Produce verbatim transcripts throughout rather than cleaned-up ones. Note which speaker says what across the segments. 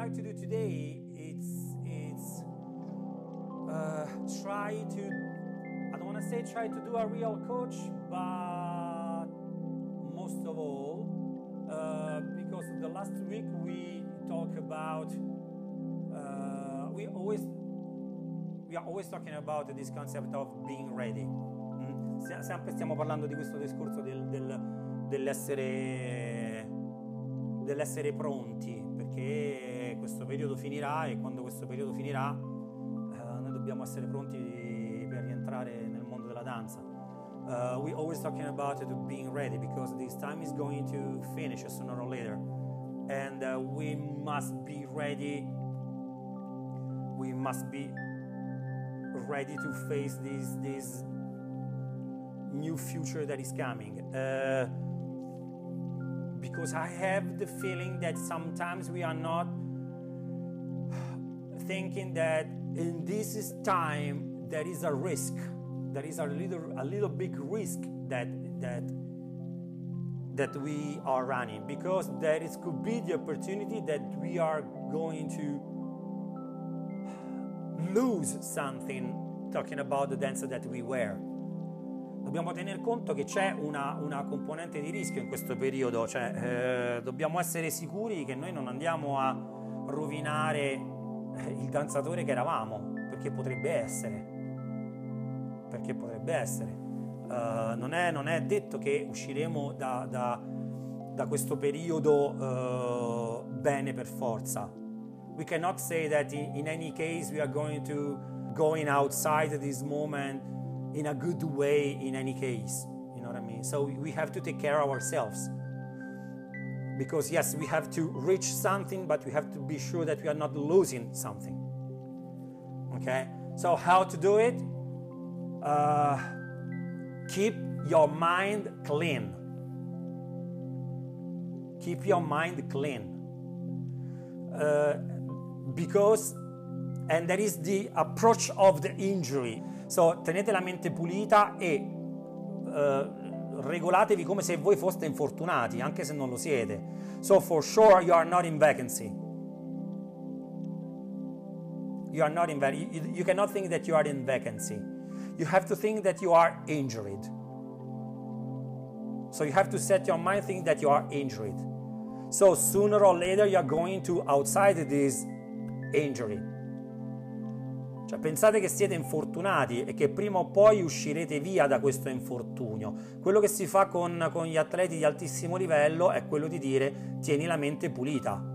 Speaker 1: like to do today, it's it's uh, try to, I don't want to say try to do a real coach, but most of all, uh, because the last week we talk about, uh, we always, we are always talking about this concept of being ready. Mm? Sempre stiamo parlando di questo discorso del, del, dell'essere, dell'essere pronti, perché questo periodo finirà e quando questo periodo finirà uh, noi dobbiamo essere pronti per rientrare nel mondo della danza. Uh, we always talking about it, being ready, because this time is going to finish sooner or later, and uh, we must be ready. We must be ready to face this this new future that is coming. Uh, because I have the feeling that sometimes we are not thinking that in this time there is a risk. There is a little, a little big risk that that that we are running, because there is could be the opportunity that we are going to lose something. Talking about the dance that we wear, dobbiamo tener conto che c'è una, una componente di rischio in questo periodo, cioè eh, dobbiamo essere sicuri che noi non andiamo a rovinare il danzatore che eravamo, perché potrebbe essere. perché potrebbe essere. Uh, non, è, non è detto che usciremo da, da, da questo periodo uh, bene per forza. We cannot say that in, in any case we are going to going outside this moment in a good way in any case. You know what I mean? So we have to take care of ourselves. Because yes, we have to reach something, but we have to be sure that we are not losing something. Okay? So how to do it? Uh, keep your mind clean. Keep your mind clean. Uh, because, and that is the approach of the injury. So, tenete la mente pulita e uh, regolatevi come se voi foste infortunati, anche se non lo siete. So, for sure, you are not in vacancy. You are not in vacancy. You, you cannot think that you are in vacancy. You have to think that you are injured. So you have to set your mind thinking that you are injured. So sooner or later you are going to outside this injury. Cioè pensate che siete infortunati e che prima o poi uscirete via da questo infortunio. Quello che si fa con, con gli atleti di altissimo livello è quello di dire tieni la mente pulita.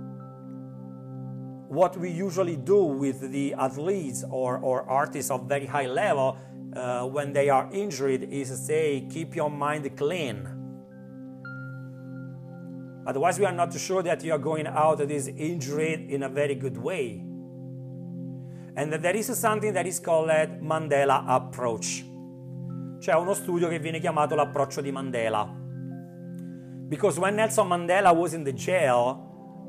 Speaker 1: What we usually do with the athletes or, or artists of very high level uh, when they are injured is say, keep your mind clean. Otherwise, we are not sure that you are going out of this injury in a very good way. And there is something that is called Mandela approach. C'è uno studio che viene chiamato l'approccio di Mandela. Because when Nelson Mandela was in the jail,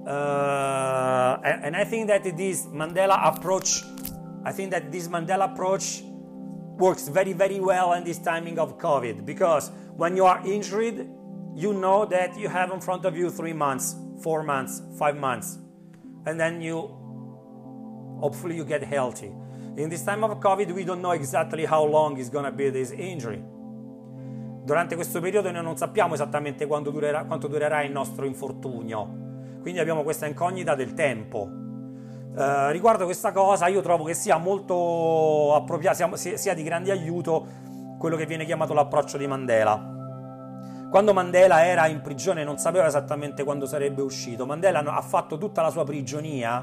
Speaker 1: Uh, and, and I think that this Mandela approach, I think that this Mandela approach works very, very well in this timing of COVID, because when you are injured, you know that you have in front of you three months, four months, five months, and then you, hopefully you get healthy. In this time of COVID, we don't know exactly how long is going to be this injury. Durante questo periodo noi non sappiamo esattamente quanto durerà, quanto durerà il nostro infortunio. Quindi abbiamo questa incognita del tempo. Uh, riguardo questa cosa io trovo che sia molto appropriato, sia, sia di grande aiuto quello che viene chiamato l'approccio di Mandela. Quando Mandela era in prigione non sapeva esattamente quando sarebbe uscito. Mandela ha fatto tutta la sua prigionia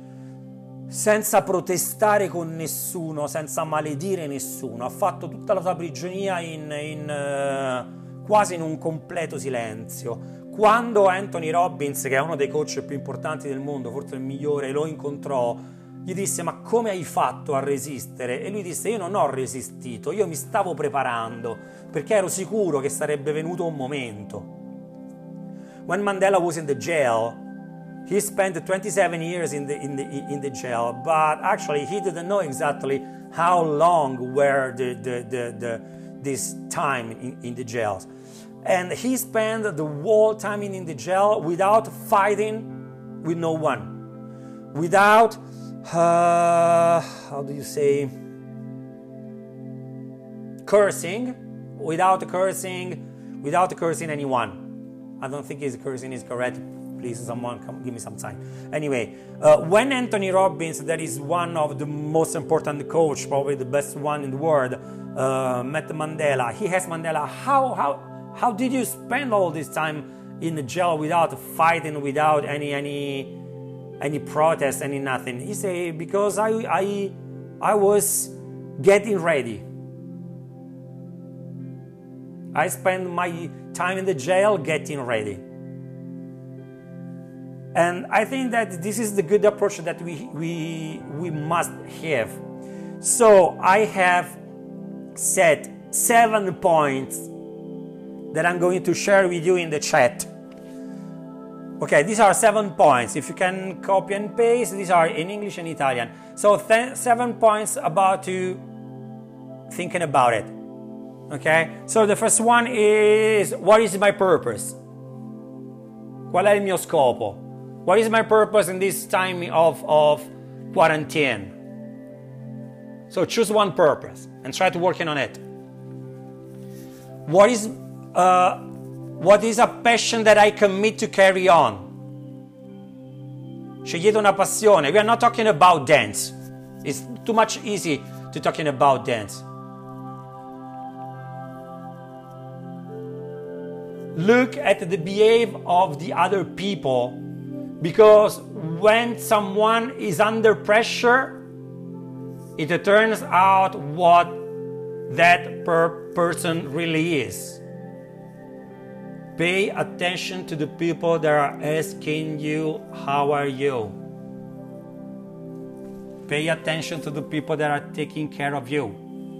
Speaker 1: senza protestare con nessuno, senza maledire nessuno. Ha fatto tutta la sua prigionia in, in, uh, quasi in un completo silenzio. Quando Anthony Robbins, che è uno dei coach più importanti del mondo, forse il migliore, lo incontrò, gli disse: ma come hai fatto a resistere? E lui disse: io non ho resistito, io mi stavo preparando, perché ero sicuro che sarebbe venuto un momento. When Mandela was in the jail, he spent twenty-seven years in the, in the, in the jail, but actually he didn't know exactly how long were the, the, the, the, this time in, in the jails. And he spent the whole time in the jail without fighting with no one. without, uh, how do you say, cursing, without cursing, without cursing anyone. I don't think his cursing is correct. Please, someone come give me some time. Anyway, uh, when Anthony Robbins, that is one of the most important coach, probably the best one in the world, uh, met Mandela, he asked Mandela, how, how, how did you spend all this time in the jail without fighting, without any, any, any protest, any nothing? He said, because I, I, I was getting ready. I spent my time in the jail getting ready. And I think that this is the good approach that we, we, we must have. So I have set seven points that I'm going to share with you in the chat. Okay, these are seven points. If you can copy and paste, these are in English and Italian. So seven points about you thinking about it. Okay, so the first one is, what is my purpose? Qual è il mio scopo? What is my purpose in this time of, of quarantine? So choose one purpose and try to work on it. What is, uh, what is a passion that I commit to carry on? Scegliete una passione. We are not talking about dance. It's too much easy to talking about dance. Look at the behavior of the other people, because when someone is under pressure, it turns out what that per person really is. Pay attention to the people that are asking you, how are you? Pay attention to the people that are taking care of you.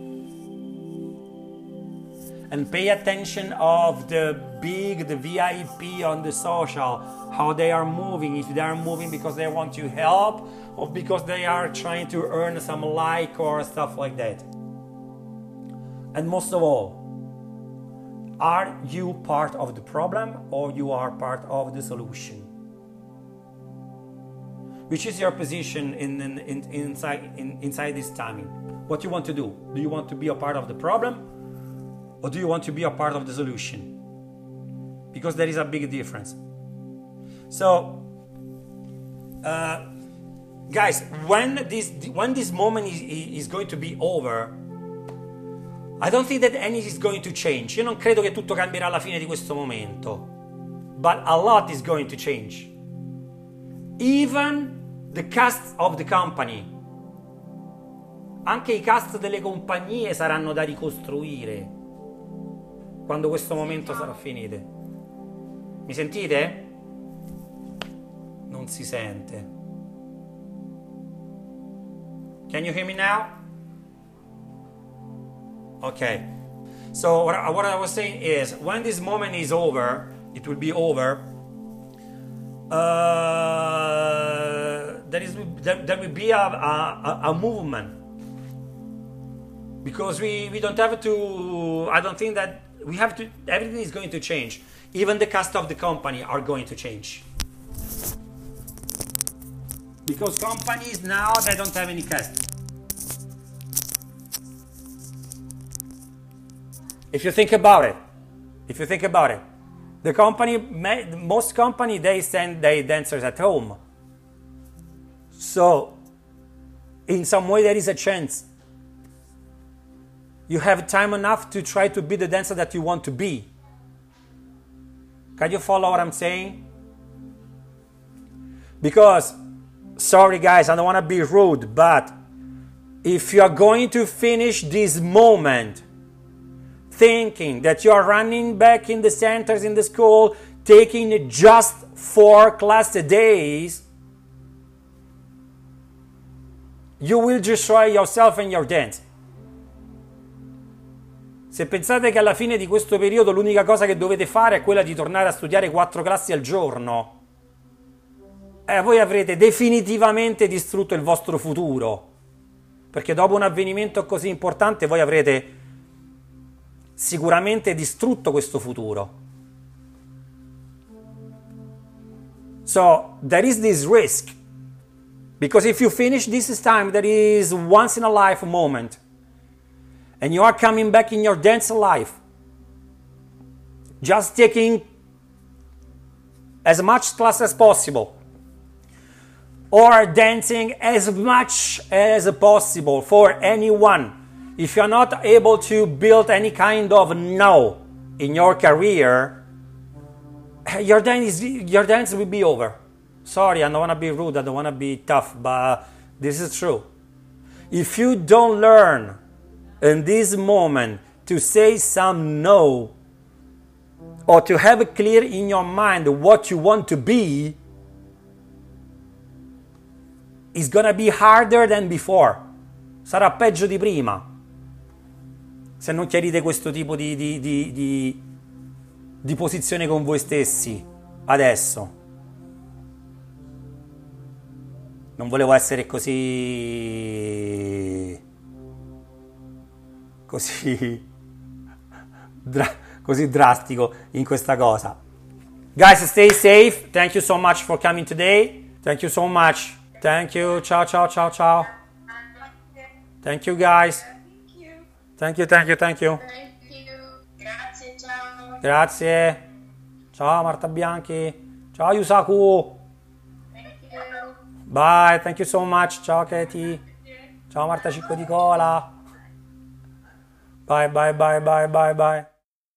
Speaker 1: And pay attention of the big, the V I P on the social, how they are moving, if they are moving because they want you help or because they are trying to earn some like or stuff like that. And most of all, are you part of the problem or you are part of the solution? Which is your position in, in, in, inside, in, inside this timing? What you want to do? Do you want to be a part of the problem? Or do you want to be a part of the solution? Because there is a big difference. So, uh, guys, when this when this moment is, is going to be over, I don't think that anything is going to change. Io non credo che tutto cambierà alla fine di questo momento. But a lot is going to change. Even the cast of the company. Anche i cast delle compagnie saranno da ricostruire quando questo momento sarà finito. Mi sentite? Non si sente. Can you hear me now? Okay. So what I, what I was saying is, when this moment is over, it will be over. Uh, there is there, there will be a, a, a movement, because we we don't have to. I don't think that. We have to, everything is going to change. Even the cast of the company are going to change. Because companies now, they don't have any cast. If you think about it, if you think about it, the company, most company, they send their dancers at home. So, in some way there is a chance. You have time enough to try to be the dancer that you want to be. Can you follow what I'm saying? Because, sorry guys, I don't want to be rude, but if you are going to finish this moment thinking that you are running back in the centers in the school, taking just four class days, you will destroy yourself and your dance. Se pensate che alla fine di questo periodo l'unica cosa che dovete fare è quella di tornare a studiare quattro classi al giorno, eh, voi avrete definitivamente distrutto il vostro futuro. Perché dopo un avvenimento così importante voi avrete sicuramente distrutto questo futuro. So, there is this risk Because if you finish this time, that is once in a life moment, and you are coming back in your dance life, just taking as much class as possible, or dancing as much as possible for anyone. If you're not able to build any kind of no in your career, your dance, your dance will be over. Sorry, I don't want to be rude, I don't want to be tough, but this is true. If you don't learn in this moment to say some no, or to have it clear in your mind what you want to be, it's gonna be harder than before. Sarà peggio di prima, se non chiarite questo tipo di, di, di, di, di posizione con voi stessi adesso. Non volevo essere così così dra, così drastico in questa cosa. Guys, stay safe. Thank you so much for coming today. Thank you so much. Thank you. Ciao ciao ciao ciao. Thank you guys. Thank you, thank you, thank you.
Speaker 2: Thank you. Grazie, ciao.
Speaker 1: Grazie. Ciao Marta Bianchi. Ciao Yusaku. Bye, thank you so much. Ciao Katie. Ciao Marta Cicco di Cola. Bye, bye, bye, bye, bye, bye.